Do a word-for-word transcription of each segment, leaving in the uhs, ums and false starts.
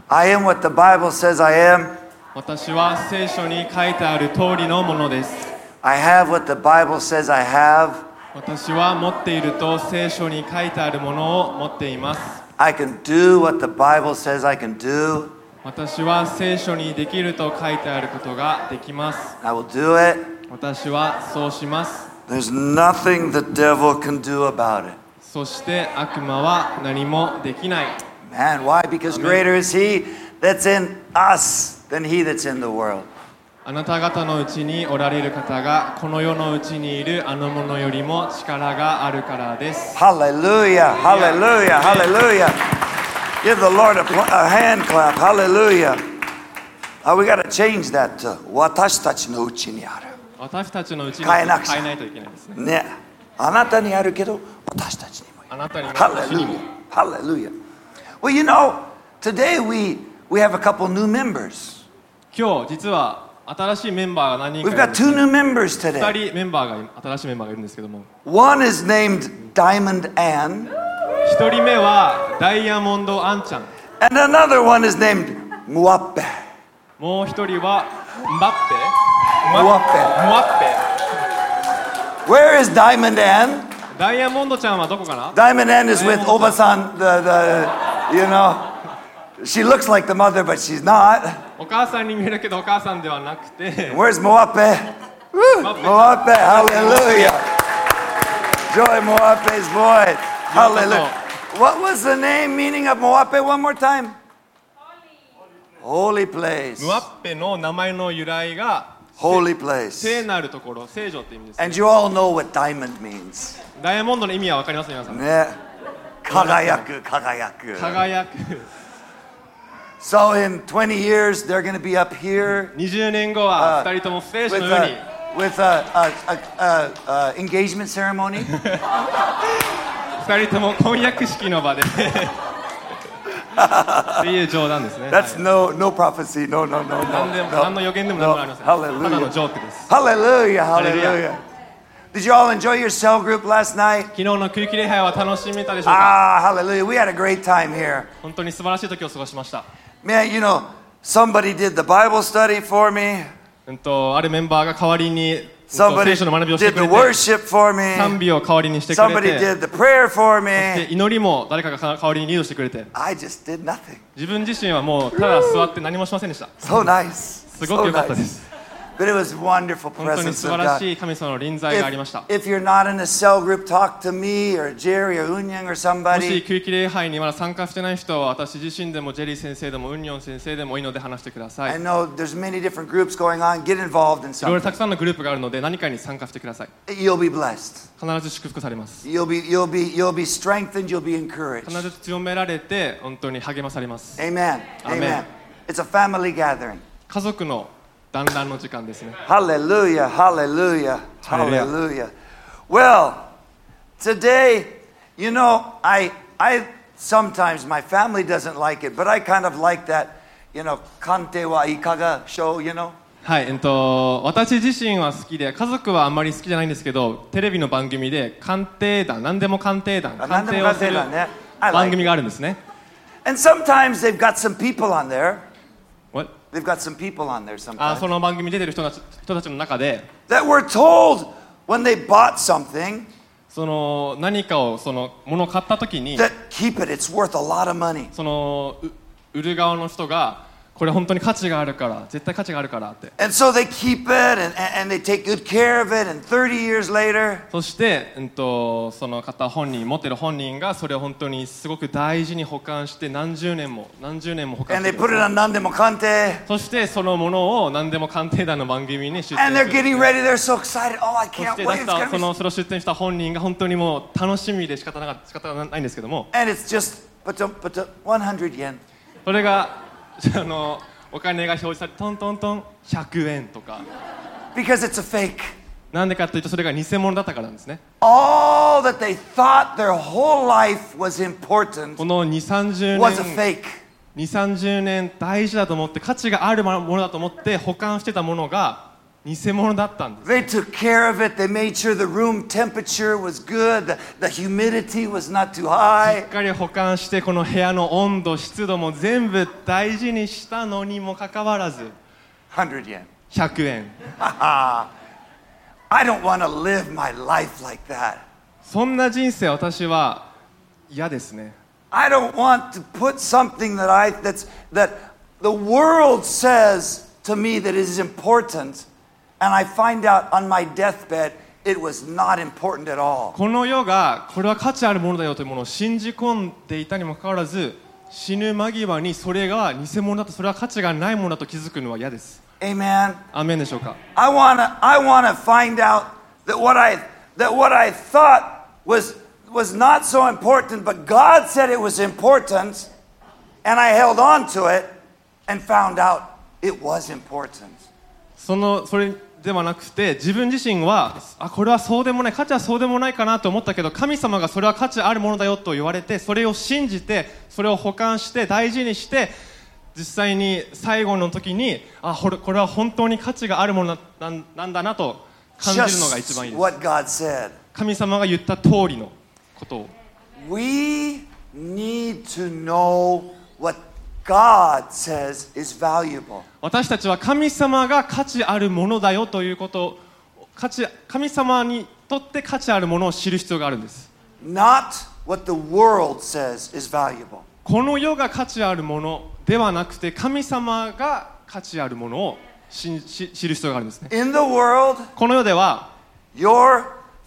I am what the Bible says I am. 私は聖書に書いてある通りのものです。 I have what the Bible says I have. 私は持っていると聖書に書いてあるものを持っています。 I can do what the Bible says I can do. 私は聖書にできると書いてあることができます。 I will do it. 私はそうします。 There's nothing the devil can do about it. そして悪魔は何もできない。 Man, why? Because greater is he that's in us than he that's in the world. あなた方のうちにおられる方がこの世のうちにいるあのものよりも力があるからです。 Hallelujah, hallelujah, hallelujah. Give the Lord a, a hand clap. Hallelujah. Uh, we got to change that to 私たちのうちにある。 私たちのうちに変えなくちゃ。 変えないといけないですね。 ね。あなたにあるけど私たちにも。 あなたにも私にも。 Hallelujah. Well, you know, today we we have a couple new members. 今日実は新しいメンバーが何人か We've いるん got です、 two ね。 new members today. 二人メンバーが新しいメンバーがいるんですけども。 One is named Diamond Ann. 一人目はダイヤモンドアンちゃん。 And another one is named Muappe. もう一人はムバッペ。 ムワッペ。 ムワッペ。 Where is Diamond Ann? ダイヤモンドちゃんはどこかな？ Diamond Ann is with Obasan, the, the, you know, she looks like the mother, but she's not. お母さんに見えるけどお母さんではなくて。 Where's Muappe? Muappe, hallelujah. Joy Muappe's voice. Hallelujah. What was the name, meaning of Muappe one more time? Holy place. ムワッペの名前の由来が Holy place. 聖なるところ、聖女って意味です、ね。 And you all know what diamond means. ダイヤモンドの意味はわかります皆さん。 ね。輝く、輝く。 輝く。 So in twenty years, they're going to be up here. にじゅうねんごは二人ともステージの上に。 With a, a, a, a, a engagement ceremony. 二人とも婚約式の場で。っていう冗談ですね。 That's no no prophecy. No no no no. 何でも何の予言でも何もありません。ただのジョークです。 Hallelujah, hallelujah. Did you all enjoy your cell group last night? 昨日の空気礼拝は楽しめたでしょうか？ Ah, hallelujah. We had a great time here. 本当に素晴らしい時を過ごしました。 Man, you know, somebody did the Bible study for me. うんとあるメンバーが代わりに Somebody 聖書の学びをしてく did れ the て、 worship for me. 賛美を代わりにしてくれ Somebody て、 did the prayer for で me. 祈りも誰かが代わりにリードしてくれて、 I just did nothing. 自分自身はもうただ座って何もしませんでした。 So nice. すごく良かったです。 But it was wonderful 本当に presence 素 of 晴ら God. しい神様の臨在がありました。 If, if you're not in a cell group, talk to me or Jerry or Unyang or もし somebody. 空気礼拝にまだ参加してない人は私自身でもジェリー先生でもウンニョン先生でもいいので話してください。 I know there's many different groups going on. Get involved in いろいろた something. くさんのグループがあるので何かに参加してください。 You'll be blessed. 必ず祝福されます。 You'll be you'll be you'll be strengthened. You'll be encouraged. 必ず強められて本当に励まされます。 Amen. Amen. It's a family gathering. 家族の団らんの時間ですね。 Hallelujah. Hallelujah. Hallelujah. Hallelujah. Well, today, you know, I I sometimes my family doesn't like it, but I kind of like that, you know, kante wa ikaga show, you know. はい、えっと、私自身は好きで、家族はあんまり好きじゃないんですけど、テレビの番組で鑑定団、何でも鑑定団、鑑定をする番組があるんですね。 And sometimes they've got some people on there. What? They've got some people on there あ、 sometimes その番組に出てる人たち、人たちの中で、 that were told when they bought something その何かをそのものを買ったときに、 that keep it, it's worth a lot of money. そのう売る側の人がこれ本当に価値があるから絶対価値があるからって。 And so they keep it and, and they take good care of it, and thirty years later そして、うん、とその方本人持ってる本人がそれを本当にすごく大事に保管して何十年も何十年も保管 and して they る put it on Nandemo Kante そしてそのものを何でも鑑定団の番組に出 and 展 they're する getting ready. They're so excited. Oh, I そ can't して出 wait. し It's た gonna そ be のそれを出展した本人が本当にもう楽しみで仕方なか仕方がないんですけども and it's just but the, but the one hundred yen. それがあのお金が表示されてトントントンひゃくえんとか Because it's a fake. なんでかというとそれが偽物だったからなんですね。 All that they thought their whole life was important このにじゅう、さんじゅう was a 年 fake. にじゅう、さんじゅうねん大事だと思って価値があるものだと思って保管してたものが偽物だったんです。 They took care of it. They made sure the room temperature was good. The, the humidity was not too し high. っかり保管してこの部屋の温度湿度も全部大事にしたのにもかかわらず one hundred yen. ひゃくえん。 I don't want to live my life like that. そんな人生私は嫌ですね。 I don't want to put something that I that's that the world says to me that is important, and I find out on my deathbed it was not important at all. この世がこれは価値あるものだよというものを信じ込んでいたにもかかわらず、死ぬ間際にそれが偽物だと、それは価値がないものだと気づくのは嫌です。 Amen. アーメンでしょうか。 I wanna I wanna find out that what I that what I thought was was not so important, but God said it was important, and I held on to it and found out it was important. そのそれではなくて、自分自身はあこれはそうでもない、価値はそうでもないかなと思ったけど、神様がそれは価値あるものだよと言われて、それを信じて、それを保管して大事にして、実際に最後の時にあこれ、これは本当に価値があるもの な, なんだなと感じるのが一番いい Just です。 what God said. 神様が言った通りのことを。 We need to know what God says is valuable. 私たちは神様が価値あるものだよということを、価値神様にとって価値あるものを知る必要があるんです。 Not what the world says is valuable. この世が価値あるものではなくて、神様が価値あるものを知知る必要があるんですね。 In the world, この世では your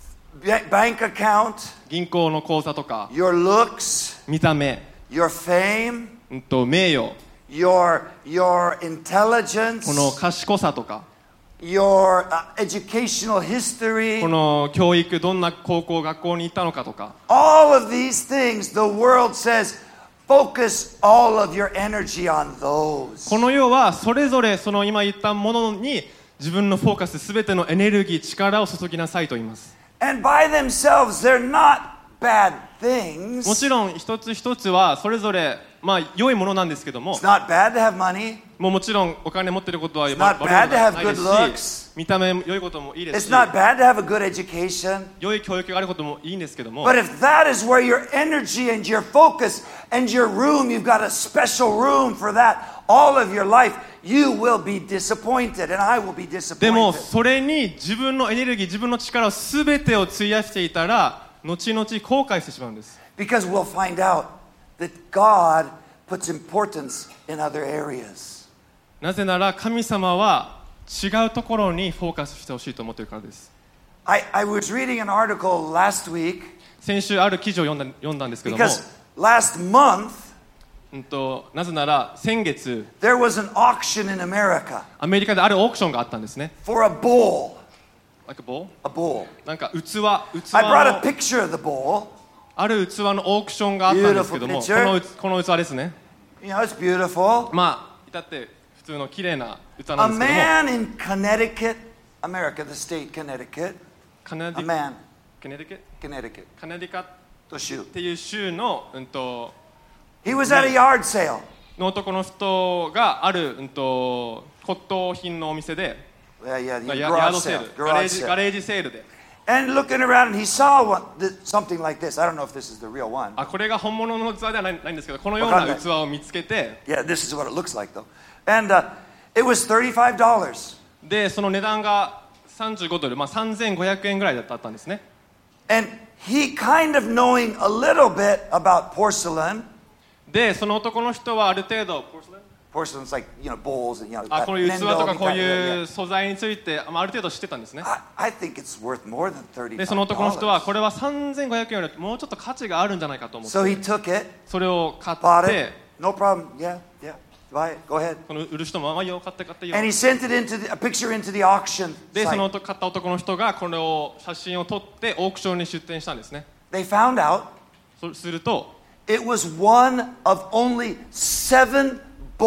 bank account, 銀行の口座とか your looks, 見た目、 your fame, うんと名誉、 your your intelligence, この賢さとか、 your uh, educational history, この教育、どんな高校学校に行ったのかとか、 all of these things, the world says, focus all of your energy on those. この世はそれぞれその今言ったものに自分のフォーカス、すべてのエネルギー、力を注ぎなさいと言います。 And by themselves, they're not bad things. もちろん一つ一つはそれぞれまあ良いものなんですけども、 It's not bad to have money. もうもちろんお金持ってることは悪い It's こ not と bad で to は have ないです good し、 looks. 見た目良いこともいいです It's し、 not bad to have a good education. 良い教育があることもいいんですけども、 But if that is where your energy and your focus and your room, you've got a special room for that all of your life, you will be disappointed and I will be でも disappointed. それに自分のエネルギー、自分の力をすべてを費やしていたら後々後悔してしまうんです。 Because we'll find out that God puts importance in other areas. なぜなら神様は違うところにフォーカスしてほしいと思っているからです。 I, I was reading an article last week 先週ある記事を読んだ、読んだんですけども、 because last month うんと、なぜなら先月 there was an auction in America アメリカであるオークションがあったんですね。 for a bowl. Like a bowl? A bowl. なんか器、器 I brought a の picture of the bowl. ある器のオークションがあったんですけども、こ Beautiful picture. のこの器ですね。 You know, it's beautiful. まあ至って普通の綺麗な器 A なんですけども、 man in Connecticut, America, the state Connecticut. カナデ A ィ man, カネディケ Connecticut. カナディカっ To shoot. ていう州のうんと He was at a yard sale. の男の人があるうんと骨董品のお店で、 Yeah, yeah, まあ the ヤヤー garage ドセー sale. ル、ガレー Garage ジガ sale. レージセールで、 And looking around, and he saw one, th- something like this. I don't know if this is the real one. あこれが本物の器ではない、ないんですけど、このような器を見つけて、 Yeah, this is what it looks like, though. And uh, it was thirty-five dollars. でその値段がさんじゅうごドル、まあさんぜんごひゃくえんぐらいだったんですね。 And he kind of knowing a little bit about porcelain. でその男の人はある程度 Porcelain's like, you know, bowls and, you know, あこういう器とかこう yeah, いう yeah. 素材について、まあ、ある程度知ってたんですね。 I, I think it's worth more than で thirty-five その男の人は dollars. これはさんぜんごひゃくえんよりもうちょっと価値があるんじゃないかと思って、 So he took it, それを買っ bought て it. No problem. Yeah, yeah. Buy it. Go ahead. この売る人も、まあ、よ買って買ってよ。 And he sent it into the, a picture into the auction でその site. 買った男の人がこれを写真を撮ってオークションに出展したんですね。 They found out そうすると it was one of only seven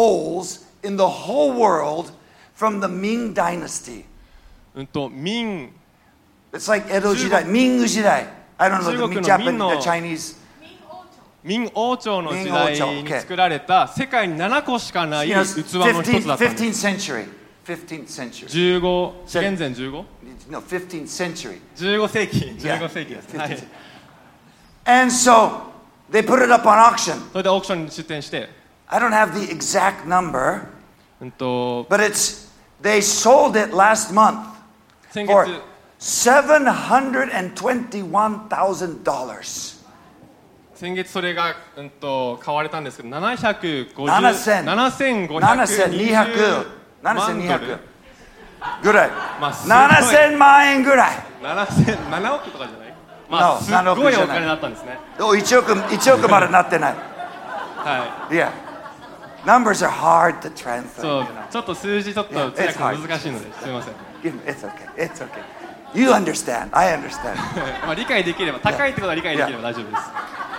bowls in the whole world from the Ming dynasty. うんと明 It's like Edo 時代, Ming 時代. I don't know the 中国の Japanese, 明の the Chinese. 明王朝の時明王代朝に作られた世界にななこしかない You 器 know, の一つだったんです。 fifteenth century. fifteenth century. じゅうご、紀元前じゅうご? No, fifteenth century. じゅうご世紀、じゅ Yeah, うご世紀です。 yeah, はい。 fifteenth. And so they put it up on auction. それでオークションに出店して、 I don't have the exact number, うんと but it's they sold it last month 先 for 月 seven hundred twenty-one thousand dollars. 先月それが、うんと買われたんですけど、ななひゃくごじゅう、 ななせんななせんごひゃくにじゅう seven hundred 万ドル seven hundred ぐらい。 まあすごいななせんまん円ぐらい。 ななせん、ななおくとかじゃない？まあ No, すっごいお金だったんですね。 おいちおく、いちおくまでなってない。 は Yeah. Numbers are hard to い。 translate. そう you know.、 ちょっと数字ちょっと Yeah, 通訳 it's hard. 難しいので、すみません。 Give me- It's okay. It's okay. You understand. I understand. まあ理解できれば、高いってことは理解できれば大丈夫です。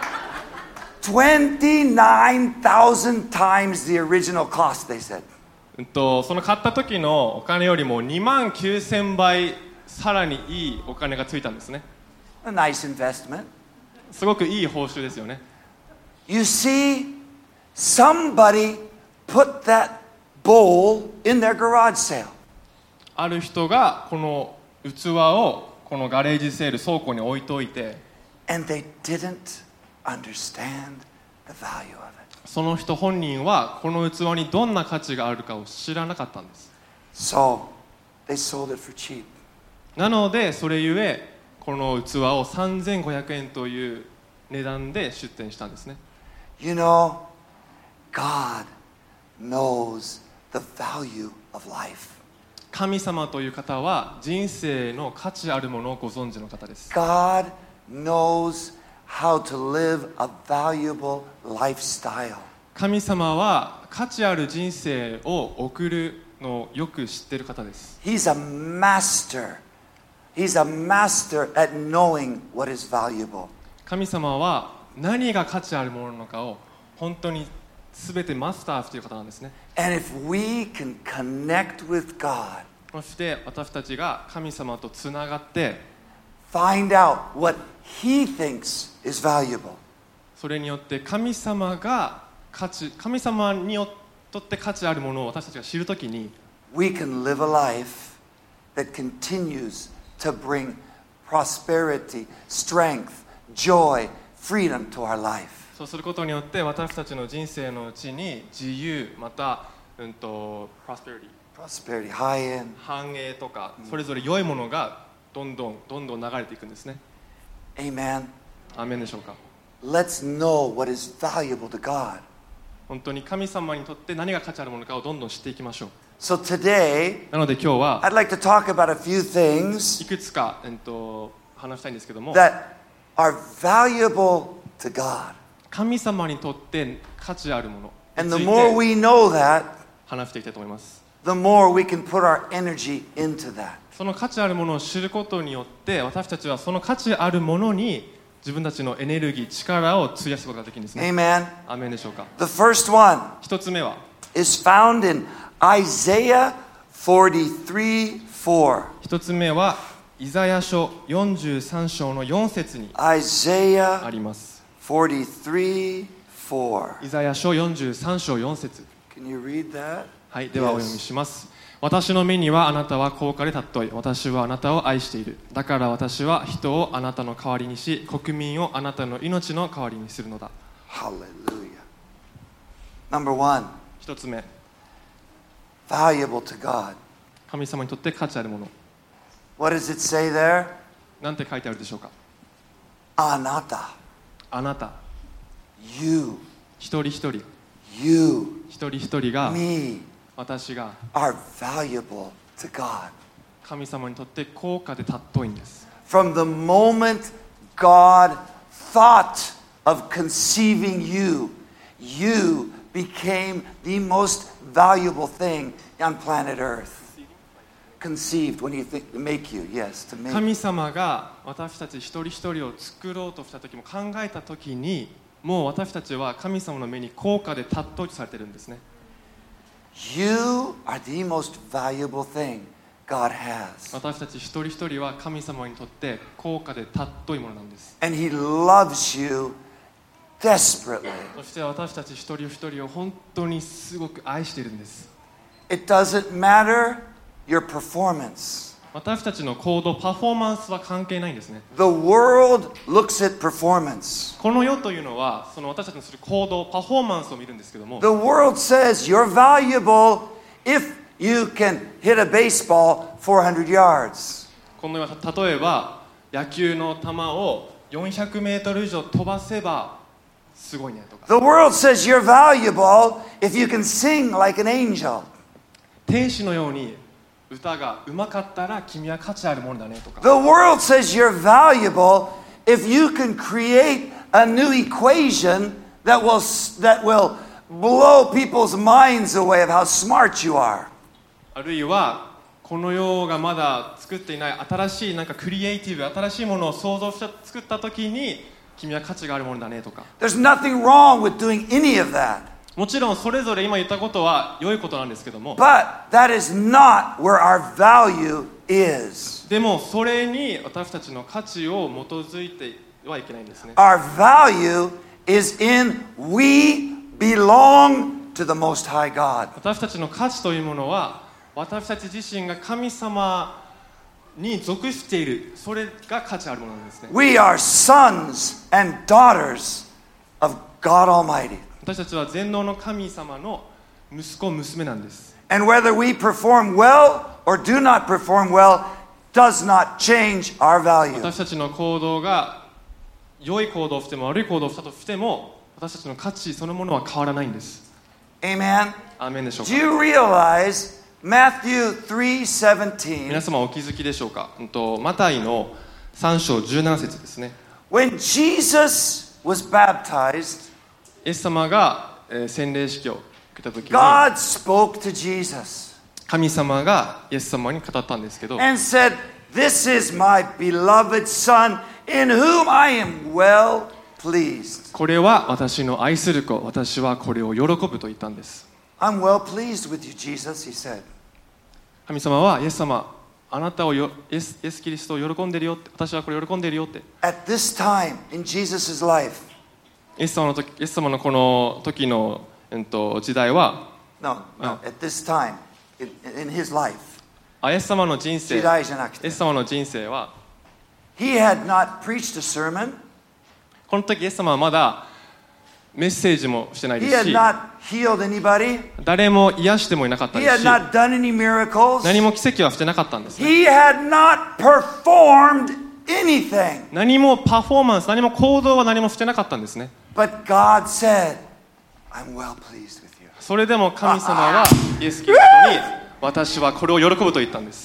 twenty-nine thousand times the original cost, they said. うんとその買った時のお金よりもにまんきゅうせんばいさらにいいお金がついたんですね。 A nice investment. すごくいい報酬ですよね。 You see, somebody put that bowl in their garage sale. ある人がこの器をこのガレージセール倉庫に置いといて、 And they didn't understand the value of it. その人本人はこの器にどんな価値があるかを知らなかったんです。 So they sold it for cheap. なのでそれゆえこの器をさんぜんごひゃくえんという値段で出店したんですね。 You know, God knows the value of life. 神様という方は人生の価値あるものをご存知の方です。 God knows how to live a valuable lifestyle. 神様は価値ある人生を送るのをよく知っている方です。 He's a master. He's a master at knowing what is valuable. 神様は何が価値あるものなのかを本当に全てマスターしている方なんですね。 And if we can connect with God, そして私たちが神様とつながって find out what He thinks is valuable, それによって神様が価値神様によって価値あるものを私たちが知るときに we can live a life that continues to bring prosperity, strength, joy, freedom to our life. そうすることによって私たちの人生のうちに自由また、うんと、prosperity Prosperity, high end. 繁栄とかそれぞれ良いものがどんどんどんどん流れていくんですね。 Amen. アーメンでしょうか。 Let's know what is valuable to God. 本当に神様にとって何が価値あるものかをどんどん知っていきましょう。 So today, なので今日は I'd like to talk about a few things いくつか、えっと、話したいんですけども that are valuable to God. 神様にとって価値あるもの And に the つい more て we know that, 話していきたいと思います。 the more we can put our energy into that. その価値あるものを知ることによって私たちはその価値あるものに自分たちのエネルギー力を費やすことができるんですね。 Amen. アーメンでしょうか。 The first one 一つ目は is found in Isaiah forty-three four. 一つ目はイザヤ書よんじゅうさん章のよん節にあ Isaiah ります。 forty-three four. イザヤ書よんじゅうさん章よん節。 Can you read that? はい、ではお読みします。私の目にはあなたは高価で尊い。私はあなたを愛している。だから私は人をあなたの代わりにし、国民をあなたの命の代わりにするのだ。 Hallelujah. Number one, 一つ目、 valuable to God. 神様にとって価値あるもの。 What does it say there? なんて書いてあるでしょうか。 Anata. あなた、 You. 一人一人、 You. 一人一人が Me. 私が Are valuable to God. 神様にとって高価で尊いんです。 From the moment God thought of conceiving you, you became the most valuable thing on planet Earth. Conceived, when you think to make you, yes, to make. 神様が私たち一人一人を作ろうとした時も考えた時にもう私たちは神様の目に高価で尊いとされているんですね。 You are the most valuable thing God has. 私たち一人一人は神様にとって高価で尊いものなんです。 And He loves you desperately. そして私たち一人一人を本当にすごく愛しているんです。 It doesn't matter your performance. 私たちの行動、パフォーマンスは関係ないんですね。 The world looks at performance. この世というのは、その私たちのする行動、パフォーマンスを見るんですけども、 The world says you're valuable if you can hit a baseball four hundred yards. この世は例えば野球の球をよんひゃくメートル以上飛ばせばすごいねとか、 The world says you're valuable if you can sing like an angel. 天使のように歌がうまかったら君は価値あるものだねとか、 The world says you're valuable if you can create a new equation that will that will blow people's minds away of how smart you are. あるいはこの世がまだ作っていない新しいなんかクリエイティブ、新しいものを創造して作った時に君は価値があるものだねとか、 There's nothing wrong with doing any of that. もちろんそれぞれ今言ったことは良いことなんですけども、 But that is not where our value is. でもそれに私たちの価値を基づいてはいけないんですね。 Our value is in we belong to the Most High God. 私たちの価値というものは私たち自身が神様に属している、それが価値あるものなんですね。 We are sons and daughters of God Almighty. 私たちは全能の神様の息子娘なんです。 And whether we perform well or do not perform well does not change our value. 私たちの行動が良い行動をしても悪い行動をしたとしても私たちの価値そのものは変わらないんです。 Amen. アーメンでしょう Do か。 you realize Matthew three seventeen, 皆様お気づきでしょうか。うんとマタイのさん章じゅうなな節ですね。 when Jesus was baptized, イエス様が、えー洗礼式を受けた時に God spoke to Jesus 神様がイエス様に語ったんですけど、 and said, This is my beloved Son in whom I am well pleased. これは私の愛する子、私はこれを喜ぶと言ったんです。 I'm well pleased with you, Jesus, he said. 神様はイエス様、あなたをよイエス、イエスキリストを喜んでるよって、私はこれ喜んでるよって。 At this time in Jesus' life, イエス様の時、イエス様のこの時の、えっと、時代は、 no, no, at this time in, in his life, あイエス様の人生、イ時代じゃなくて、 エス様の人生は、 he had not preached a sermon, この時イエス様はまだメッセージもしてないで he す had し、 not healed anybody, 誰も癒してもいなかった he です had し、 not done any miracles, 何も奇跡はしてなかったんですね。 he had not performed anything. 何もパフォーマンス、何も行動は何もしてなかったんですね。 But God said, I'm well pleased with you. それでも神様はイエス・キリストに私はこれを喜ぶと言ったんです。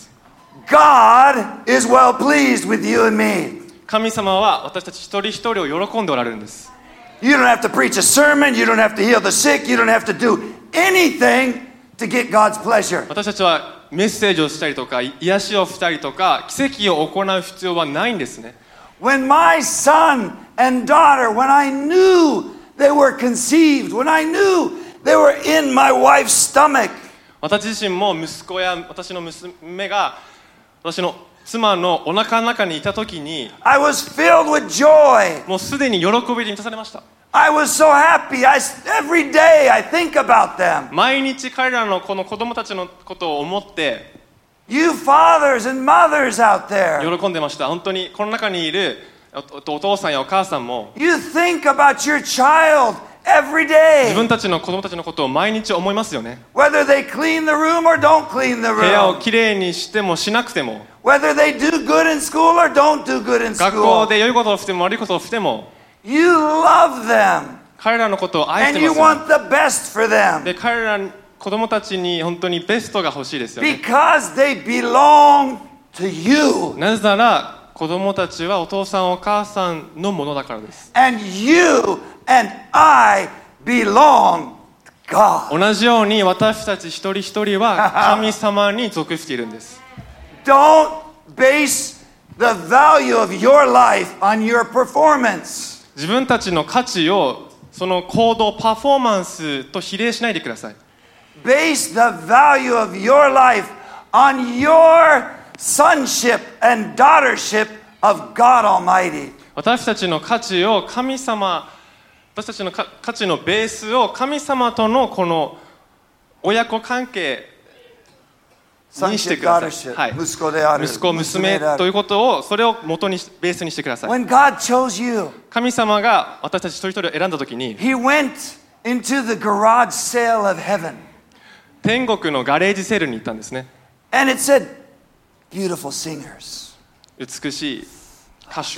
God is well pleased with you and me. 神様は私たち一人一人を喜んでおられるんです。 You don't have to preach a sermon, you don't have to heal the sick, you don't have to do anything to get God's pleasure. 私たちはメッセージをしたりとか癒しをしたりとか奇跡を行う必要はないんですね。 When my son and daughter, when I knew they were conceived, when I knew they were in my wife's stomach, 私自身も息子や私の娘が私の妻のお腹の中にいた時に I was filled with joy. もうすでに喜びで満たされました。 I was so happy. I, every day I think about them. 毎日彼らのこの子供たちのことを思って You fathers and mothers out there, 喜んでました。本当にこの中にいる お, お父さんやお母さんも you think about your child every 自 day. 分たちの子供たちのことを毎日思いますよね。 Whether they clean the room or don't clean the 部屋を room. きれいにしてもしなくても Whether they do good in school or don't do good in 学 school. 校で良いことをしても悪いことをしても You love them 彼らのことを愛し and て you ますよね。 want the best for them で彼ら子供たちに本当にベストが欲しいですよね。 because they belong to you なぜなら子供たちはお父さんお母さんのものだからです。 and you and I belong to God. 同じように私たち一人一人は神様に属しているんです。 Don't base the value of your life on your performance. 自分たちの価値をその行動パフォーマンスと比例しないでください。 Base the value of your life on your sonship and daughtership of God Almighty. 私たちの価値を神様私たちの価値のベースを神様とのこの親子関係にしてください。はい、息子である、息子、娘ということを、それを元にベースにしてください。 When God chose you, 神様が私たち一人一人を選んだときに、 He went into the garage sale of heaven. 天国のガレージセールに行ったんですね。 And it said, beautiful singers. 美しい歌手。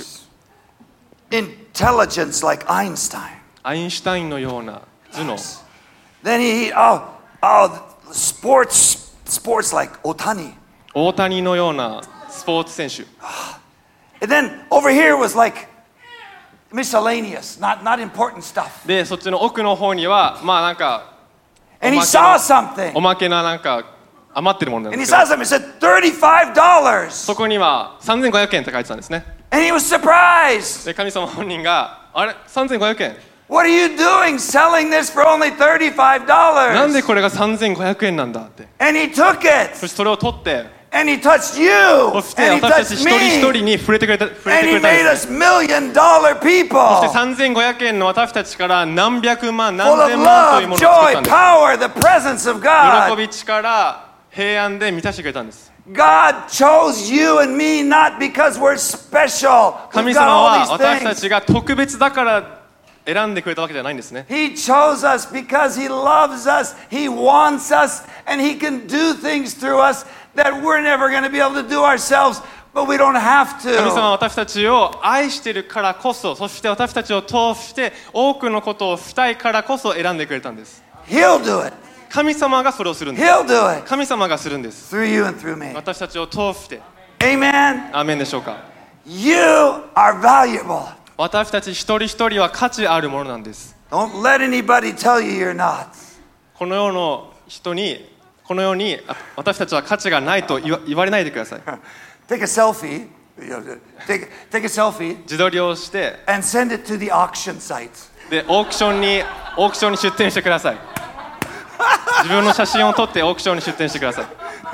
Intelligence like Einstein. アインシュタインのような頭脳。 Then he, oh, oh, sports. Sports like Otani. 大谷のようなスポーツ選手。 And then over here was like miscellaneous, not not important stuff. で、そっちの奥の方にはまあなんか And he saw something. おまけななんか余ってるものなんですけど。 And he saw something. It said thirty-five dollars. そこにはさんぜんごひゃくえんって書いてたんですね。 And he was surprised. で、神様本人があれさんぜんごひゃくえん。 What are you doing selling this for only thirty-five dollars? なんでこれがさんぜんごひゃくえんなんだって。 And he took it. そしてそれを取って、 and he touched you. そして私たち一人一人に触れてくれた、触れてくれたんです。 And he made us million dollar people. そしてさんぜんごひゃくえんの私たちから何百万、何千万というものを作ったんです。 Full of love, joy, power, the presence of God. 喜び、力、平安で満たしてくれたんです。 God chose you and me not because we're special. 神様は私たちが特別だから選んでくれたわけじゃないんですね。 He chose us because He loves us, He wants us, and He can do things through us that we're never going to be able to do ourselves, but we don't have to. 神様は私たちを愛しているからこそ、そして私たちを通して多くのことをしたいからこそ選んでくれたんです。 He'll do it. 神様がそれをするんです。 He'll do it. 神様がするんです。 Through you and through me. 私たちを通して。 Amen. アーメンでしょうか。 You are valuable. 私たち一人一人は価値あるものなんです。 Don't let anybody tell you you're not. この世の人に、この世に私たちは価値がないと言わ、言われないでください。 Take a selfie. Take, take a selfie. 自撮りをして。 And send it to the auction site. で、オークションに、オークションに出店してください。自分の写真を撮ってオークションに出店してください。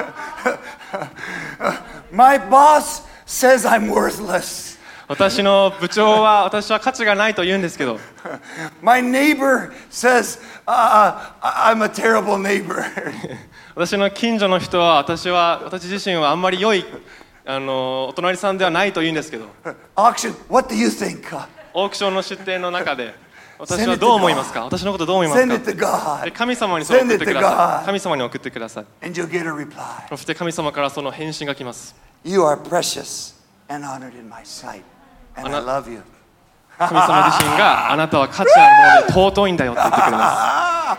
My boss says I'm worthless. 私の部長は私は価値がないと言うんですけど。 My neighbor says、uh, I'm a terrible neighbor. 私の近所の人は私は私自身はあんまり良いあのお隣さんではないと言うんですけど。 Auction, what do you think? オークションの出店の中で私はどう思いますか？私のことどう思いますか？で神様にそれを送ってください。神様に送ってください。 And you'll get a reply. そして神様からその返信が来ます。 You are precious and honored in my sight, and I love you. 神様自身があなたは価値あるもので尊いんだよって言ってくれます。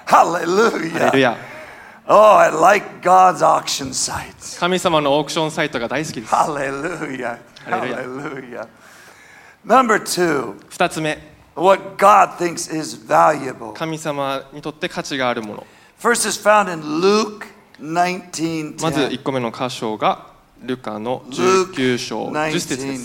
Hallelujah. ハレルヤ。 Oh, I like God's auction sites. 神様のオークションサイトが大好きです。 Hallelujah. Hallelujah. Number two. 二つ目。 What God thinks is valuable. 神様にとって価値があるもの。 First is found in Luke nineteen ten. まずいっこめの箇所がルカのじゅうきゅう章じゅっ節です。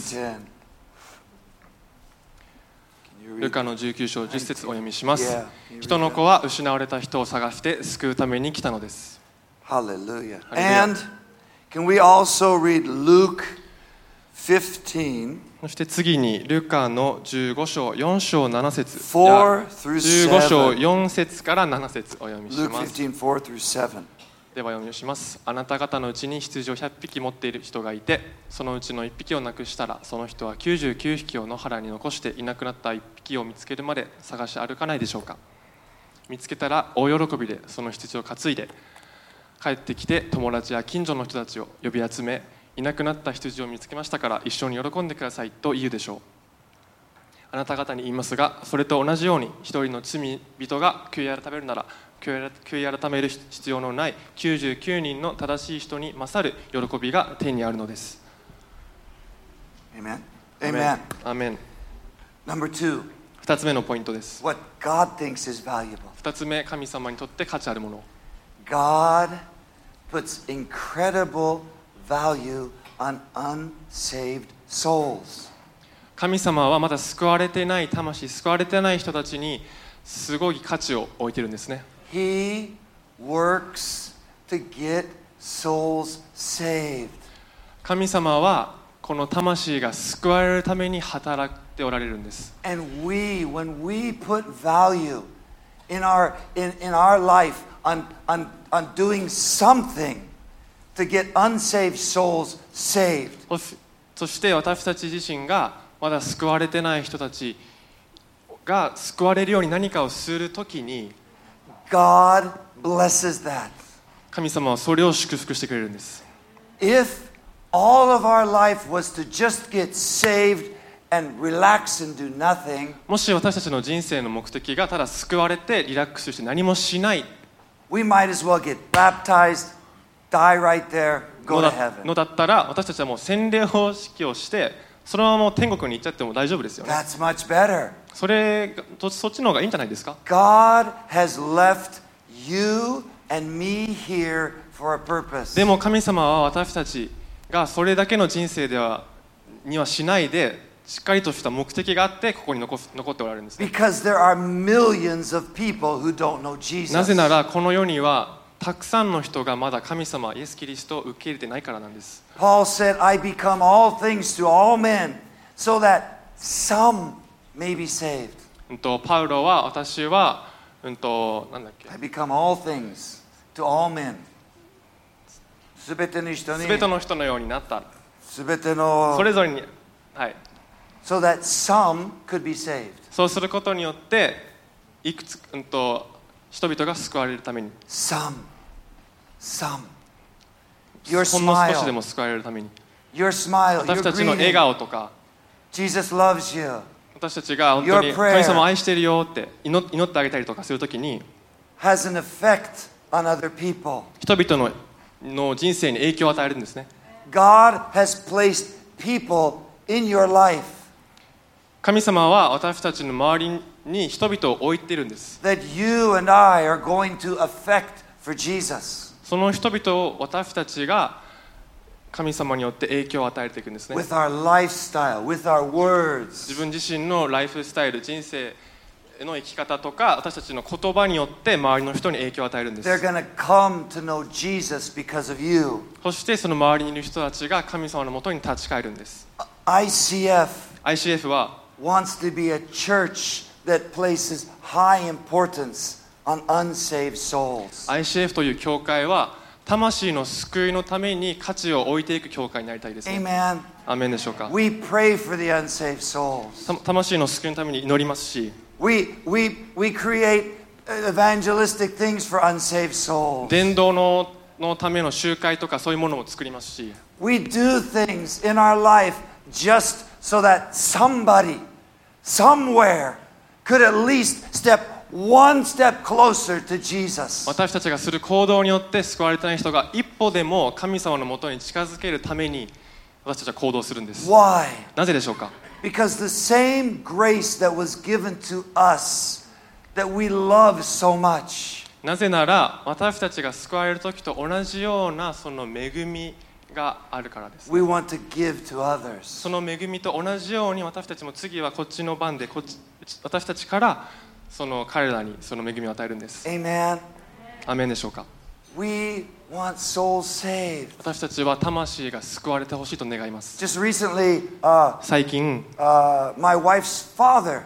ルカのじゅうきゅう章じゅっ節をお読みします。人の子は失われた人を探して救うために来たのです。 Hallelujah. And can we also read Luke fifteen? そして次にルカのじゅうご章よん章なな節、じじゅうご章よん節からなな節お読みします。 Luke fifteen, four through seven. では読みします。あなた方のうちに羊をひゃっぴき持っている人がいて、そのうちのいっぴきをなくしたら、その人はきゅうじゅうきゅうひきを野原に残していなくなったいっぴきを見つけるまで探し歩かないでしょうか。見つけたら大喜びでその羊を担いで帰ってきて、友達や近所の人たちを呼び集め、いなくなった羊を見つけましたから一緒に喜んでくださいと言うでしょう。あなた方に言いますが、それと同じように一人の罪人が悔い改めるなら、悔い改める必要のないきゅうじゅうきゅうにんの正しい人に勝る喜びが天にあるのです。 Amen. Amen. アーメン。 Number two. 二つ目のポイントです。 What God thinks is valuable. 二つ目、神様にとって価値あるもの。 God puts incredible value on unsaved souls. 神様はまだ救われてない魂、救われてない人たちにすごい価値を置いてるんですね。 He works to get souls saved. 神様はこの魂が救われるために働いておられるんです。 And we, when we put value in our in, in our life on, on, on doing something to get unsaved souls saved. そしそして私たち自身がまだ救われてない人たちが救われるように何かをするときに God blesses that. 神様はそれを祝福してくれるんです。 If all of our life was to just get saved and relax and do nothing, もし私たちの人生の目的がただ救われてリラックスして何もしない we might as well get baptized, die right there, の go to だ heaven. のだったら私たちはもう洗礼方式をしてそのままもう天国に行っちゃっても大丈夫ですよね。 That's much better. それがとそっちの方がいいんじゃないですか。 God has left you and me here for a purpose. でも神様は私たちがそれだけの人生ではにはしないでしっかりとした目的があってここに残す残っておられるんですね。 Because there are millions of people who don't know Jesus. なぜならこの世にはたくさんの人がまだ神様イエス・キリストを受け入れてないからなんです。 Paul said, I become all things to all men so that some may be saved. うんとパウロは私はうんとなんだっけ I become all things to all men. すべての人にすべての人のようになった。 すべてのそれぞれにはい。 so that some could be saved. そうすることによっていくつうんと人々が救われるために Some. Some. Your ほんの少しで smile. も救われるために Your smile. 私 Your たちの笑 greeting. 顔とか Jesus loves you. 私たちが本当に Your prayer. 神様を愛してるよって祈祈ってあげたりとかするときに Has an effect on other people. 人々のの人生に影響を与えるんですね。 God has placed people in your life 神様は私たちの周りに人々を置いているんです。 that you and I are going to affect for Jesus その人々を私たちが神様によって影響を与えていくんですね。 with our lifestyle, with our 自 words. 分自身のライフスタイル、人生の生き方とか私たちの言葉によって周りの人に影響を与えるんです。 They're going to come to know Jesus because of you. そしてその周りにいる人たちが神様のもとに立ち返るんです。 I C F アイシーエフ は wants to be a church that places high importance on unsaved souls. アイシーエフ という教会は魂の救いのために価値を置いていく教会になりたいですね。 Amen. アーメンでしょうか。 We pray for the unsaved souls. た魂の救いのために祈りますし、 We, we, we create evangelistic things for unsaved souls. 伝道ののための集会とかそういうものも作りますし、 We do things in our life just so that somebody, somewhere, could at least step one step closer to Jesus. 私たちがする行動によって救われてない人が一歩でも神様のもとに近づけるために私たちは行動するんです。 Why? なぜでしょうか。 Because the same grace that was given to us, that we love so much, なぜなら私たちが救われる時と同じようなその恵みがあるからです。 we want to give to others. その恵みと同じように私たちも次はこっちの番でこっち私たちからその彼らにその恵みを与えるんです。 Amen. アーメンでしょうか。 We want souls saved. 私たちは魂が救われてほしいと願います。 Just recently, uh, 最近、 uh, my wife's father,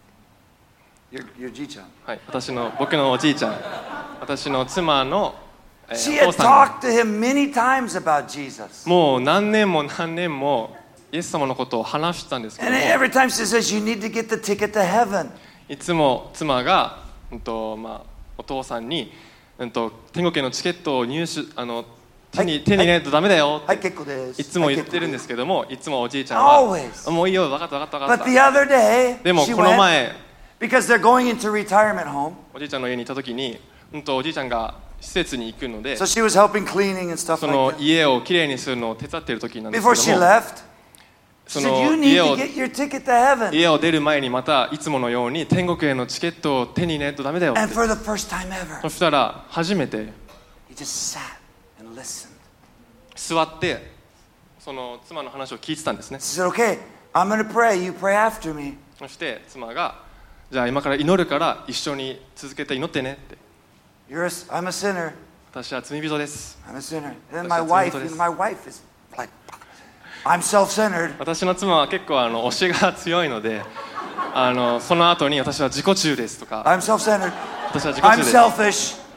your, your Ji-chan, はい、私の僕のおじいちゃん、私の妻の、えー she お had 父さん talked to him many times about Jesus. もう何年も何年もイエス様のことを話してたんですけど And も、 every time she says, you need to get the ticket to heaven. いつも妻が、うんとまあ、お父さんに、うんと、天国へのチケットを入手あの手に、 はい手に入れないとダメだよって、 はい、結構です。 いつも言ってるんですけども、いつもおじいちゃんは Always. もういいよ分かった分かった分か But っ the た。 other day, でも she この went, 前 because they're going into retirement home, おじいちゃんの家に行った時に、うんと、おじいちゃんが施設に行くので so she was helping cleaning and stuff そ like の that. 家をきれいにするのを手伝っている時なんです Before け she ども left, そ she said, の you need 家 to を get your ticket to heaven. 家を出る前にまたいつものように天国へのチケットを手に入れないとダメだよっ And て for the first time ever, そしたら初めて he just sat and listened. 座ってその妻の話を聞いてたんですね。 She said, okay, I'm going to pray. You pray after me. そして妻がじゃあ今から祈るから一緒に続けて祈ってねって。 You're a, I'm a sinner. 私は罪人です。 I'm a sinner. And then 私 my は wife, 罪人です。 you know, my wife is like, I'm self-centered. 私の妻は結構あの推しが強いのであのその後に私は自己中ですとか I'm self-centered. 私は自己 I'm 中です selfish.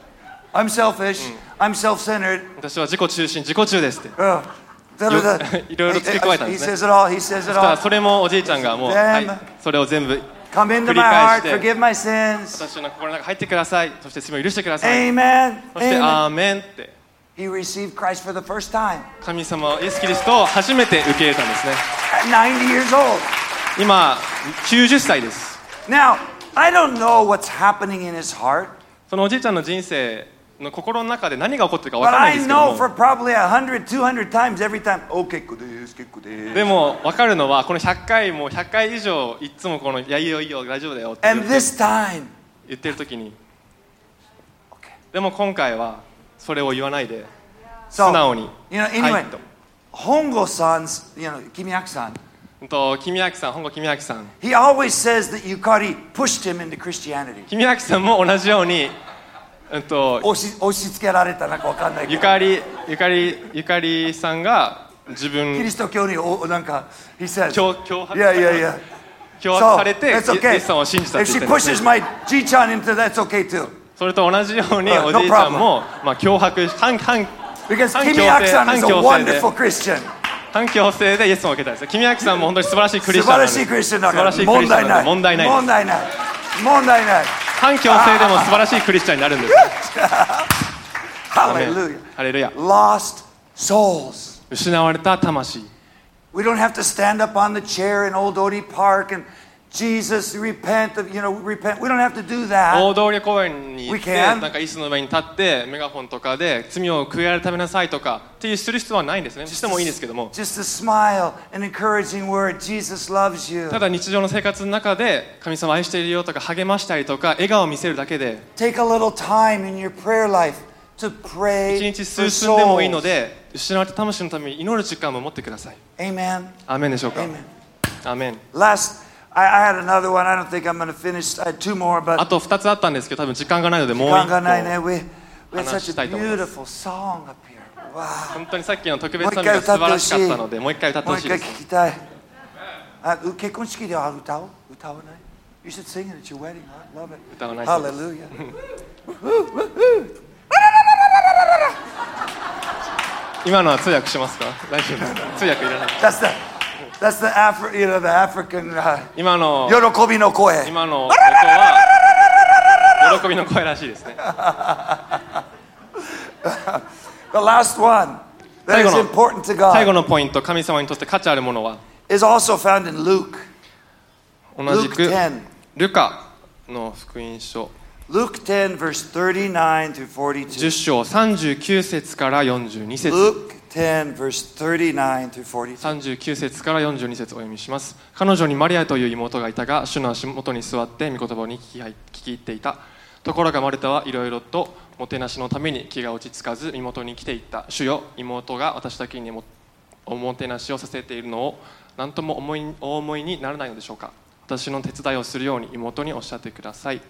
I'm selfish. I'm self-centered. 私は自己中心自己中ですって Uh, da, da, da. いろいろ付け加えたん He ですね says it all. He says そ it したら all. それもおじいちゃんがもう、はい、それを全部 Come into 繰り my 返 heart, して forgive my sins. 私の心の中に入ってくださいそして罪を許してください Amen. そして Amen. アーメンって He received Christ for the first time 神様イエス・キリストを初めて受け入れたんですね at ninety years old. 今きゅうじゅっさいです Now, I don't know what's happening in his heart, そのおじいちゃんの人生の心の中で何が起こってるか分 but からないん I ですけど know も for probably one hundred, two hundred times every time, oh, 結構です結構ですでも分かるのはこのひゃっかいもひゃっかい以上いつもこの「いやいいよいいよ大丈夫だよ」って言 And って this time, 言ってる時にでも今回はそれを言わないで素 so, 直に you know, は anyway, いと Hongo-san's, you know, Kimiaki-san, うんと君明さん本郷君明さん he always says that Yukari pushed him into Christianity. 君明さんも同じようにうんと押し押し付けられたなんかわかんないけど。 ゆかりゆかりゆかりさんが自分キリスト教におなんか he says, 脅脅迫 yeah, yeah, yeah. 脅迫 So, されて、 that's イ okay. エスさんを信じたっ If て言 she ってるんです pushes ね my G-chan into that's okay too. それと同じように Uh, お no じいちゃんも、まあ、脅迫反反 Because 反 Kimi 強制 Aki-san is 反 a 強制で wonderful Christian. 反強制でイエスを受けたんです君明さんも本当に素晴らしいクリスチャンなんで素晴らしいクリスチャンだ素晴らからしいクリスチャンなんで問題ない問題ない問題ない反強制でも素晴らしいクリスチャンになるんですアーメン Hallelujah. ハレルヤ Lost souls. 失われた魂 We don't have to stand up on the chair in Old Odie Park and Jesus repent of, you know, repent. We don't have to do 大 that. 通り公園に行っ We て can. なんか椅子の上に立ってメガホンとかで罪を悔い改めなさいとかっていうする必要はないんですねしてもいいんですけども Just a smile, an encouraging word. Jesus loves you. ただ日常の生活の中で神様愛しているよとか励ましたりとか笑顔を見せるだけで Take a little time in your prayer life to pray 一日 for 数分でもいいの souls. で失われた魂のために祈る時間も持ってください Amen. アーメンでしょうか Amen. アーメン Last, I, I had another one. I don't think I'm going to finish. I had two more, あ but とふたつあったんですけど多分時間がないのでもう一個 we, we had 話 such した a いと思います beautiful song up here. Wow. 本当にさっきの特別サミが素晴らしかったのでもう一回歌ってもう一回ほしいです聞きたい。あ、結婚式では歌う？歌わない？ You should sing it at your wedding. I love it. 歌わないそうです Hallelujah. 今のは通訳しますか大丈夫通訳いらない That's the, that's the Afri, you know, the African、uh, 今の喜びの声。 今の音は喜びの声らしいですね The last one that 最後 is の important to 最後 God のポイント神様にとって価値あるものは is also found in Luke. 同じ Luke く ten. ルカの福音書 Luke ten, verse thirty-nine through じゅっ forty-two. 章さんじゅうきゅう節からよんじゅうに節 Luke ten, verse thirty-nine through forty-two. さんじゅうきゅう節からよんじゅうに節お読みします。彼女にマリアという妹がいたが、主の足元に座って御言葉に聞き聞き入っていた。ところがマルタはいろいろともてなしのために気が落ち着かず妹に来ていった。主よ、妹が私だけにもおもてなしをさせているのを何とも思いお思いにならないのでしょうか。私の手伝いをするように妹におっしゃってください。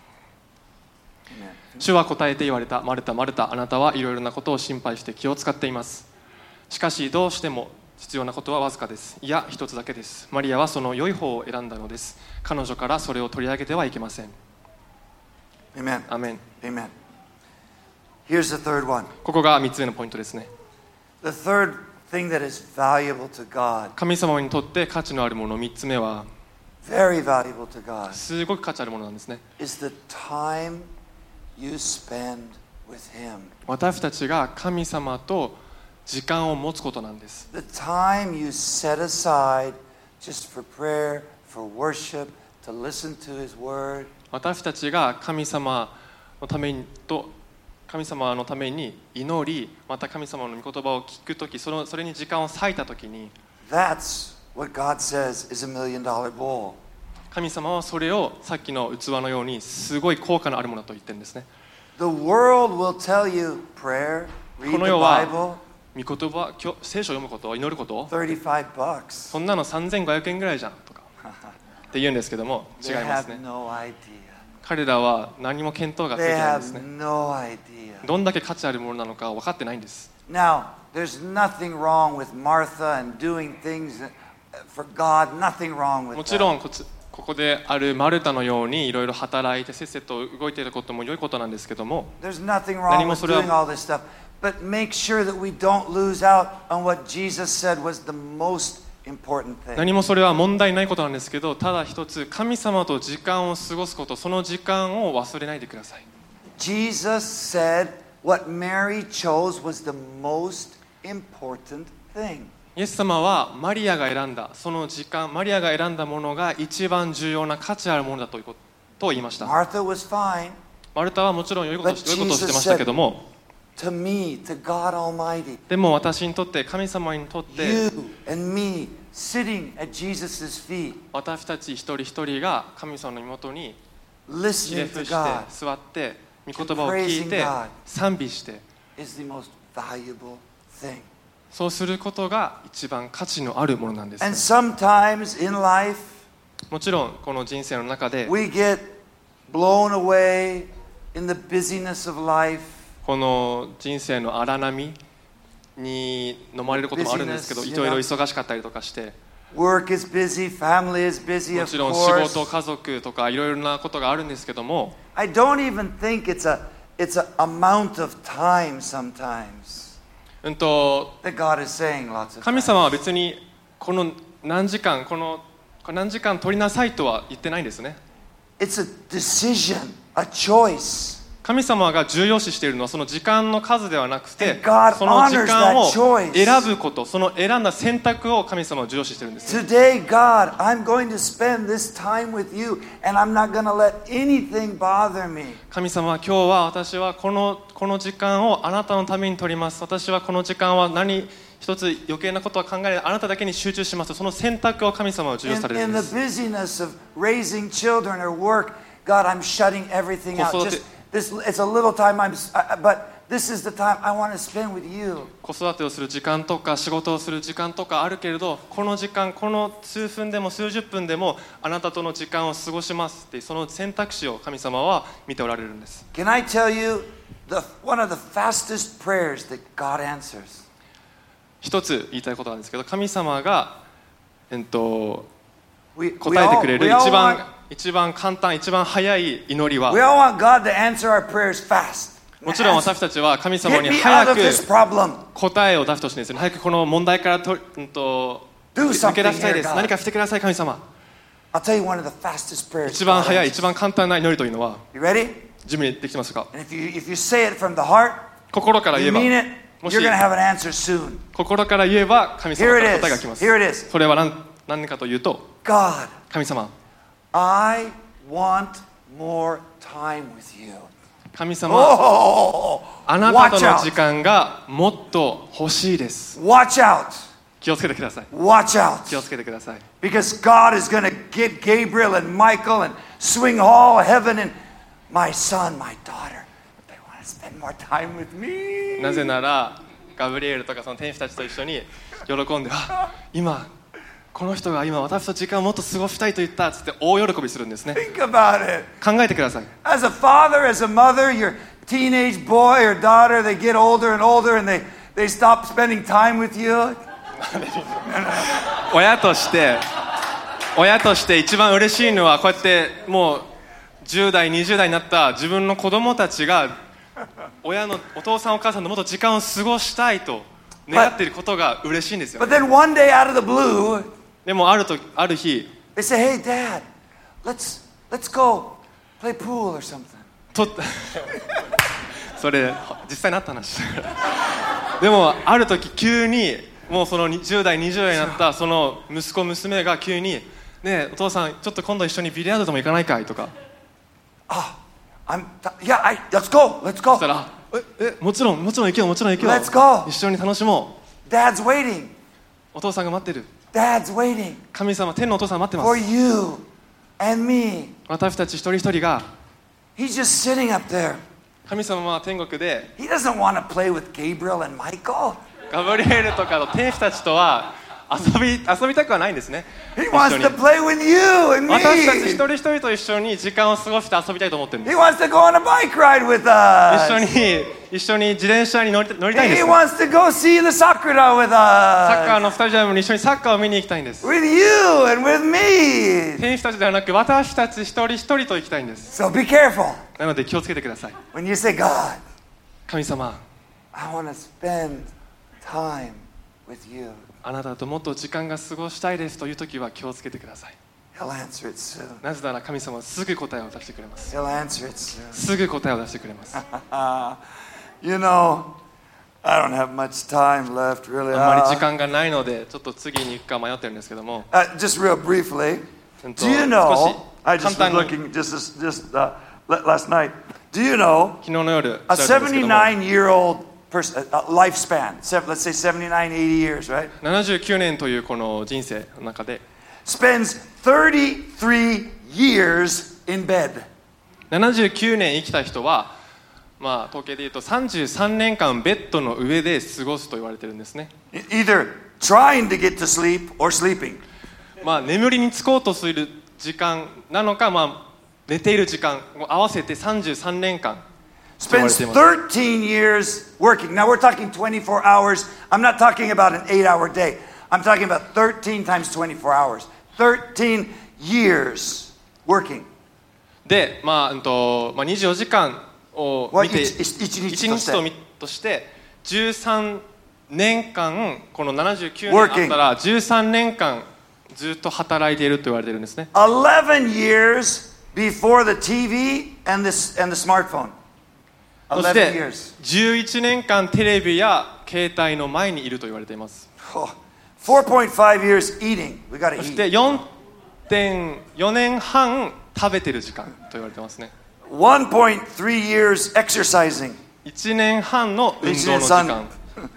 主は答えて言われた。マルタ、マルタ、あなたはいろいろなことを心配して気を使っています。しかしどうしても必要なことはわずかです。いや、一つだけです。マリアはその良い方を選んだのです。彼女からそれを取り上げてはいけません。 Amen. アーメン。 Amen. Here's the third one. ここがみっつめのポイントですね。 The third thing that is valuable to God, 神様にとって価値のあるものみっつめは very valuable to God, すごく価値あるものなんですね。 is the time you spend with Him. 私たちが神様と時間を持つことなんです。 The time you set aside just for prayer, for worship, to listen to His Word. 私たちが神様のためにと神様のために祈り、また神様の御言葉を聞くとき、そのそれに時間を割いたときに、 That's what God says is a million dollar bowl. 神様はそれをさっきの器のようにすごい効果のあるものだと言ってるんですね。 The world will tell you prayer, こ read の the 世は Bible, 御言葉、今日聖書を読むこと、祈ること、 thirty-five bucks. そんなのさんぜんごひゃくえんぐらいじゃんとかって言うんですけども、違い They ます have ね。 no idea. 彼らは何も見当がついて They ないんです have ね。 no idea. どんだけ価値あるものなのか分かってないんです。 Now, there's nothing wrong with Martha and doing things for God. Nothing wrong with もちろ that. んこつここであるマルタのようにいろいろ働いてせっせと動いていることも良いことなんですけども、 There's nothing wrong with doing all this stuff, but make sure that we don't lose out on what Jesus said was the most important thing. 何もそれは問題ないことなんですけど、ただ一つ神様と時間を過ごすこと、その時間を忘れないでください。 Jesus said what Mary chose was the most important thing. イエス様はマリアが選んだその時間、マリアが選んだものが一番重要な価値あるものだということを言いました。 Martha was fine. マルタはもちろん良いことをしてましたけども、 To me, to God Almighty, でも私にとって、神様にとって、 you and me sitting at Jesus' feet, 私たち一人一人が神様の身元にひ listening れ to 伏して God, 座って御言葉を聞いて賛美して、 is the most valuable thing. そうすることが一番価値のあるものなんです。 And sometimes in life, もちろんこの人生の中で we get blown away in the busyness of life. この人生の荒波に飲まれることもあるんですけど、 Busyness, いろいろ忙しかったりとかして、 Work is busy, family is busy, も of ちろん仕 course. 事、家族とかいろいろなことがあるんですけども、 I don't even think it's a it's an amount of time sometimes うんと that God is saying lots of 神 times. 様は別にこの何時間このこれ何時間取りなさいとは言ってないんですね。 It's a decision, a choice. 神様が重要視しているのはその時間の数ではなくて、 And God その時間を honors that choice. 選ぶこと、その選んだ選択を神様は重要視しているんです。 Today, God, I'm going to spend this time with you, and I'm not going to let anything bother me. 神様は今日は私はこのこの時間をあなたのために取ります。私はこの時間は何一つ余計なことは考えない、あなただけに集中します。その選択を神様は重要 In, されるん in で the す。 busyness of raising children or work, God, I'm shutting everything out. 子育て Just this, it's a little time, I'm, uh, but this is the time I want to spend with you. 子育てをする時間とか仕事をする時間とかあるけれど、この時間、この数分でも数十分でもあなたとの時間を過ごしますっていうその選択肢を神様は見ておられるんです。 Can I tell you the, one of the fastest prayers that God answers? 一つ言いたいことなんですけど、神様が、えっと、 We, we 答えて all, くれる we all 一 want, 番一番簡単、一番早い祈りは、 we all want God to answer our prayers fast. もちろん私たちは神様 Get に me out 早 of く this problem. 答えを出してほしいんですよね。早くこの問題からと、うん、と Do 抜け something 出したい here, です。 God. 何かしてください、神様。 I'll tell you one of the fastest prayers. 一番 God 早い、 answers. 一番簡単な祈りというのは、 You ready? 準備できてますか？ And if you, if you say it from the heart, 心から言 you えば、 mean it, もし you're going to have an answer soon. 心から言えば神様 Here か it ら答えが来ま is. す。 Here it is. それは何、何かというと、 God, 神様、 I want more time with you. 神様、 Oh, あなたと watch の時 out. 間がもっと欲しいです。 Watch out. 気をつけてください。 Watch out. 気をつけてください。 Because God is going to get Gabriel and Michael and swing all heaven and my son, my daughter. They want to spend more time with me. なぜなら、ガブリエルとかその天使たちと一緒に喜んで、あ、今この人が今私と時間をもっと過ごしたいと言ったっつって大喜びするんですね。 Think about it. 考えてください。 As a father, as a mother, your teenage boy or daughter, they get older and older and they, they stop spending time with you. 親として親として一番嬉しいのはこうやってもうじゅう代にじゅう代になった自分の子供たちが親のお父さんお母さんともっと時間を過ごしたいと願っていることが嬉しいんですよ、 But then one day out of the blue, でもあるとある日 they say, hey, Dad, let's, let's go play pool or something. とそれ実際になった話でもある時急にもうそのじゅう代にじゅう代になったその息子娘が急にねえお父さんちょっと今度一緒にビリヤードでも行かないかいとか Ah, I'm, t- yeah, I, let's go, let's そ go. したらええもちろんもちろん行けよもちろん行けよ Let's go. 一緒に楽しも Dad's waiting. うお父さんが待ってる Dad's waiting 神様天のお父さん待ってま for す you and me. 私たち一人一人が He's just sitting up there. 神様は天国で He doesn't want to play with Gabriel and Michael. ガブリエルとかの天使たちとは遊び遊びたくはないんですね He 一 wants 緒に to play with you and 私たち一 me. 人一人と一緒に時間を過ごして遊びたいと思ってるんで He す wants to go on a bike ride with 一緒 us. に一緒に自転車に乗り乗りたいんで He す。 wants to go see the Sakura with サッカー us. のスタジアムに一緒にサッカーを見に行きたいんです。 With you and with me. 選手たちではなく私たち一人一人と行きたいんです。 So be careful なので気をつけてください。 when you say, God, 神様、 I want to spend time with you. あなたともっと時間が過ごしたいですという時は気をつけてください。 He'll answer it soon. なぜなら神様はすぐ答えを出してくれます。 He'll answer it soon. すぐ答えを出してくれます。 You know, I don't have much time left, really. あんまり時 Uh, 間がないのでちょっと次に行くか迷ってるんですけども、 uh, just real briefly, うんと do you 少 know? し I 簡 just was 単に looking just this, just uh, la- last night. Do you know 昨日の夜 a 調べたんですけども seventy-nine-year-old person, uh, lifespan? Seven, let's say seventy-nine, eighty years, right? ななじゅうきゅうねんというこの人生の中で Spends thirty-three years in bed. ななじゅうきゅうねん生きた人は、まあ、統計で言うとさんじゅうさんねんかんベッドの上で過ごすと言われてるんですね。 Either trying to get to sleep or sleeping. まあ、眠りにつこうとする時間なのか、まあ、寝ている時間を合わせてさんじゅうさんねんかん Spends thirteen years working. Now we're talking twenty-four hours. I'm not talking about an eight-hour day. I'm talking about thirteen times twenty-four hours. thirteen years working. で、まあうんとまあ、にじゅうよじかんを見て一日一日としてとしてじゅうさんねんかんこのななじゅうきゅうねんあったらじゅうさんねんかんずっと働いていると言われているんですね。 eleven years before the T V and the, and the smartphone. そし eleven て years. じゅういちねんかんテレビや携帯の前にいると言われています。 Oh, four point five years eating. We got to そして eat. よんてんよねんはん食べてる時間と言われてますね。 one point three years exercising. いちねんはんの運動の時間。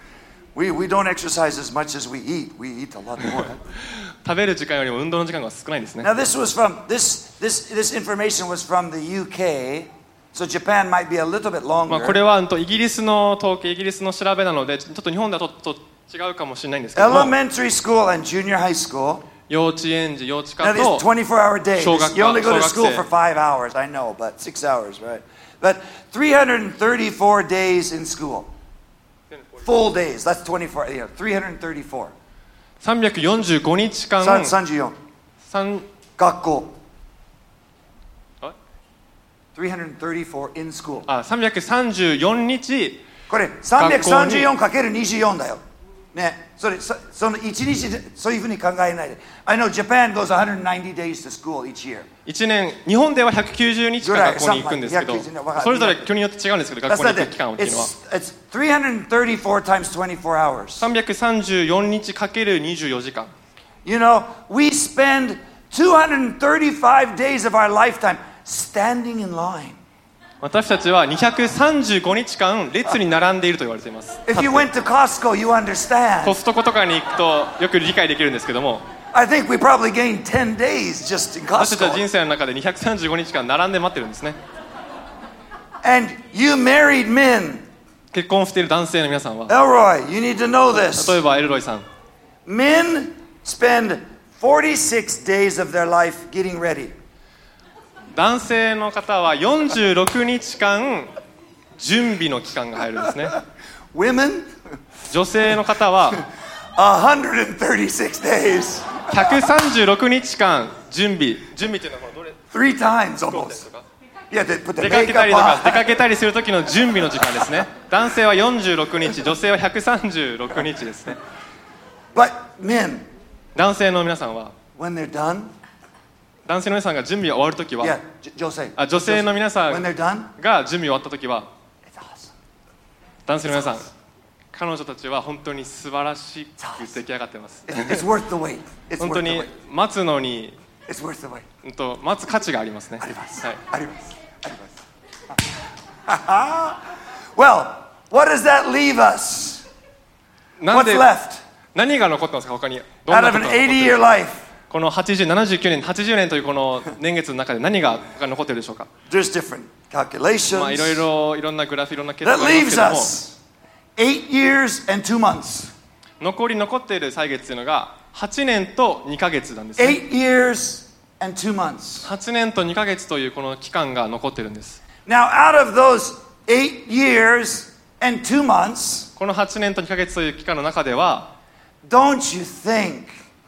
We, we don't exercise as much as we eat. We eat a lot more. 食べる時間よりも運動の時間が少ないんですね。 Now this was from this this this information was from the U K, so Japan might be a little bit まあこれ longer. はうんとイギリスの統計、イギリスの調べなので、ちょっと日本ではちょっと違うかもしれないんですけども、 Elementary school and junior high school. 幼稚園児、幼稚 Now 科 these と twenty-four hour days. Shogak- You only go to shogak school se. for five hours, I know, but six hours, right? But three hundred thirty-four days in school. Full days. That's twenty-four. Yeah, three hundred thirty-four. さんびゃくよんじゅうごにちかん、 三34. 三学校. What? three hundred thirty-four in school. あさんびゃくさんじゅうよっかこれさんびゃくさんじゅうよんかけるにじゅうよんだよ。ね、それそそのいちにちでそういうふうに考えないで。I know Japan goes one hundred ninety days to school each year. いちねん、日本ではひゃくきゅうじゅうにち間学校に行くんですけど、 ぐらいひゃくきゅうじゅうわかるそれぞれ国によって違うんですけど、学校に行く期間っていうのは It's, it's three hundred thirty-four times twenty-four hours. さんびゃくさんじゅうよっかけるにじゅうよじかん。 You know, we spend two hundred thirty-five days of our lifetime standing in line. 私たちはにひゃくさんじゅうごにちかん列に並んでいると言われています。 If you went to Costco, you コ understand. ストコとかに行くとよく理解できるんですけども、 I think we probably gained ten days just in 私たちは人 Costco. 生の中でにひゃくさんじゅうごにちかん並んで待ってるんですね。 And you married men. 結婚している男性の皆さんは、 Elroy, you need to know this. 例えばエルロイさん、 Men spend forty-six days of their life getting ready. 男性の方はよんじゅうろくにちかん準備の期間が入るんですね。 Women, 女性の方は one hundred thirty-six days. ひゃくさんじゅうろくにちかん準備、準備っていうのはどれ Three times そうで almost. すか？ Yeah, they put the 出かけた makeup りとか出 on. かけたりする時の準備の時間ですね。男性はよんじゅうろくにち、女性はひゃくさんじゅうろくにちですね。 But men, 男性の皆さんは、 when they're done, 男性の皆さんが準備が終わる時は、 yeah, J- Jose. あ女性の皆さ When ん they're done, が準備終わった時は、 it's awesome. 男性の皆さん、彼女たちは本当に素晴らしく出来上がってます。 It's, it's worth the wait. It's 本 worth 当 the に wait. 待つのに、 It's worth the wait. うんと待つ価値がありますね。 あります。 はい。 あります。あります。Well, what does that leave us? なん What's で left 何が残ってますか他に？どん out な of こと an が残ってる eighty-year life? このはちじゅう、ななじゅうきゅうねん、はちじゅうねんというこの年月の中で何がが残っているでしょうか？ There's different calculations. まあいろいろいろんなグラフ、いろんな計算 That があります leaves けども、 us eight years and two months. 残り残っている歳月というのがはちねんとにかげつなんですね。 Eight years and two months. はちねんとにかげつというこの期間が残っているんです。 Now, out of those eight years and two months, このはちねんとにかげつという期間の中では、 don't you think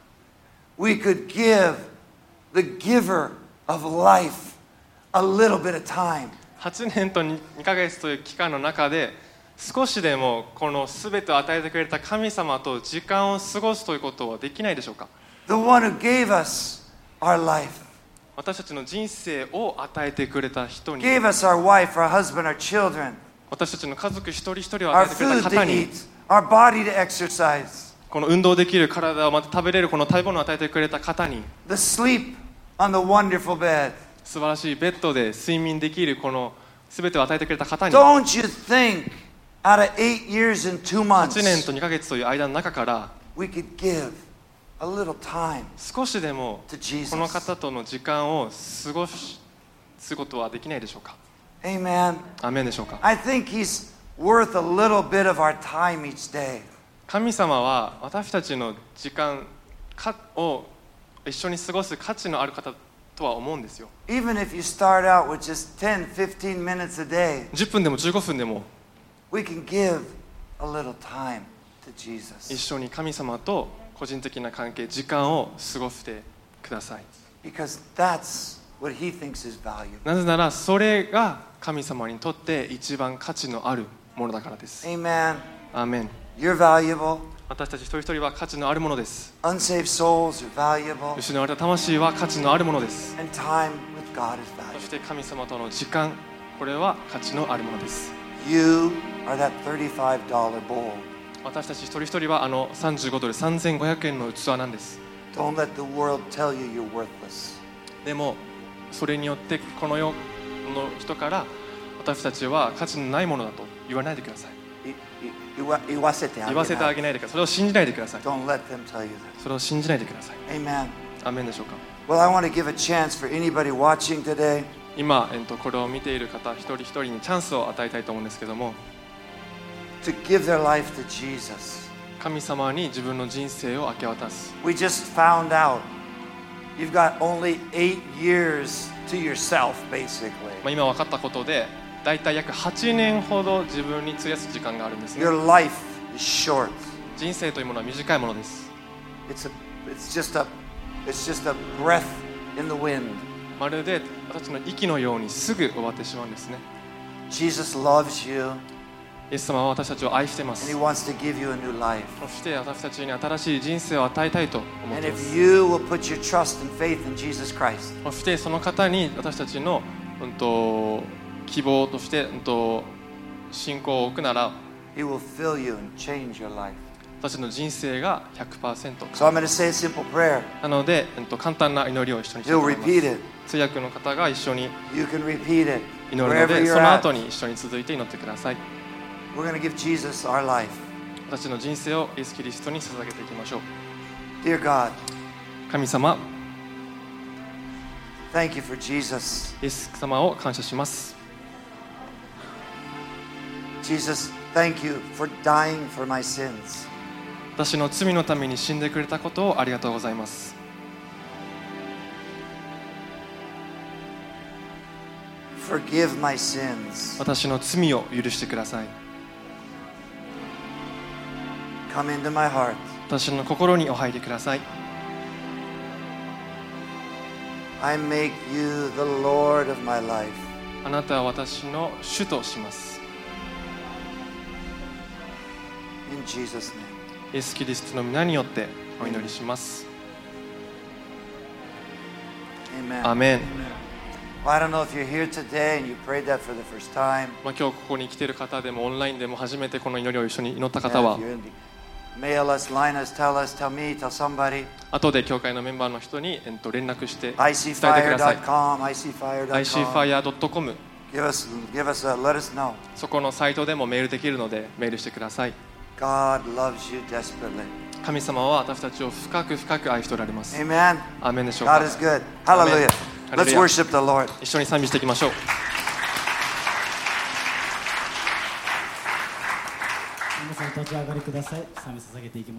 we could give the giver of life a little bit of time? はちねんとにかげつという期間の中で少しでもこの全てを与えてくれた神様と時間を過ごすということはできないでしょうか。 The one who gave us our life, 私たちの人生を与えてくれた人に、 gave us our wife, our husband, our children, 私たちの家族一人一人を与 our えてくれた food 方 to に、 eat, our body to exercise, この運動できる体をまた食べれるこの食べ物を与えてくれた方に、 the sleep on the wonderful bed. 素晴らしいベッドで睡眠できるこの全てを与えてくれた方に、 Don't you think out of eight years and two は months ちねんとにかげつという間の中から we could give a little time 少しでも to Jesus? この方との時間を過ごすことはできないでしょうか。 Amen. アーメンでしょうか。 I think he's worth a little bit of our time each day. 神様は私たちの時間を一緒に過ごす価値のある方とは思うんですよ。 Even if you start out with just ten, fifteen minutes a day, じゅっぷんでもじゅうごふんでも we can give a little time to Jesus. 一緒に神様と個人的な関係、時間を過ごしてください。 Because that's what he thinks is valuable. なぜならそれが神様にとって一番価値のあるものだからです。 Amen. アーメン。 You're valuable. 私たち一人一人は価値のあるものです。 Unsaved souls are valuable. 失われた魂は価値のあるものです。 And time with God is そし valuable. て神様との時間、これは価値のあるものです。 You are that thirty-five dollar bowl. 私たち一人一人はあのさんじゅうごドルさんぜんごひゃくえんの器なんです。 Don't let the world tell you you're worthless. でもそれによってこの世の人から私たちは価値のないものだと言わないでください。 いい言わ言わせてあげない。 言わせてあげないでください。それを信じないでください。 Don't let them tell you that. それを信じないでください。 Amen. アーメンでしょうか。 Well, I want to give a chance for anybody watching today 今、えっと、これを見ている方一人一人にチャンスを与えたいと思うんですけども、 to give their life to Jesus. 神様に自分の人生を明け渡す。 We just found out you've got only eight years to yourself, basically. まあ、今分かったことでだいたい約はちねんほど自分に費やす時間があるんですね。 Your life is short. 人生というものは短いものです。 It's a, it's just a, it's just a breath in the wind. まるで私の息のようにすぐ終わってしまうんですね。 Jesus loves you イエス様は私たちを愛していま and す。 He wants to give you a new life. そして私たちに新しい人生を与えたいと思っ And ていま if す。 you will put your trust and faith in Jesus Christ, そしてその方に私たちの、うん、と希望として、うん、と信仰を置くなら He will fill you and change your life. 私の人生が ひゃくパーセント So I'm going to say a simple prayer. なので、うん、と簡単な祈りを一緒にしたいと You'll 思います。 repeat it. 通訳の方が一緒に You can repeat it 祈るの wherever で、 you're その at. 後に一緒に続いて祈ってください。 We're going to give Jesus our life. 私の人生をイエス・キリストに捧げていきましょう。 Dear God, 神様、 thank you for Jesus. イエス様を感謝します。 Jesus, thank you for dying for my sins. 私の罪のために死んでくれたことをありがとうございます。 Forgive my sins. 私の罪を許してください。 Come into my heart. 私の心にお入りください。 I make you the Lord of my life. あなたは私の主とします。 In Jesus' name. イエス・キリストの皆によってお祈りします。 Amen. アーメン。 Well, I don't know if you're here today and you prayed that for the first time. まあ、今日ここに来ている方でもオンラインでも初めてこの祈りを一緒に祈った Yeah, 方 if は you're in the, mail us, line us, tell us, tell me, tell somebody. 後で教会のメンバーの人に、えっと、連絡して伝えてく I C だ fire さい。 dot com, I C fire dot com. アイシーファイアードットコム Give us, give us a, let us know. そこのサイトでもメールできるのでメールしてください。 God loves you desperately. 神様は私たちを深く深く愛しておられます。 Amen. アーメンでしょう God か。 is good. Hallelujah. Let's Hallelujah. worship the Lord. 一緒に賛美していきましょう。 皆さん立ち上がりください。賛美捧げていきます。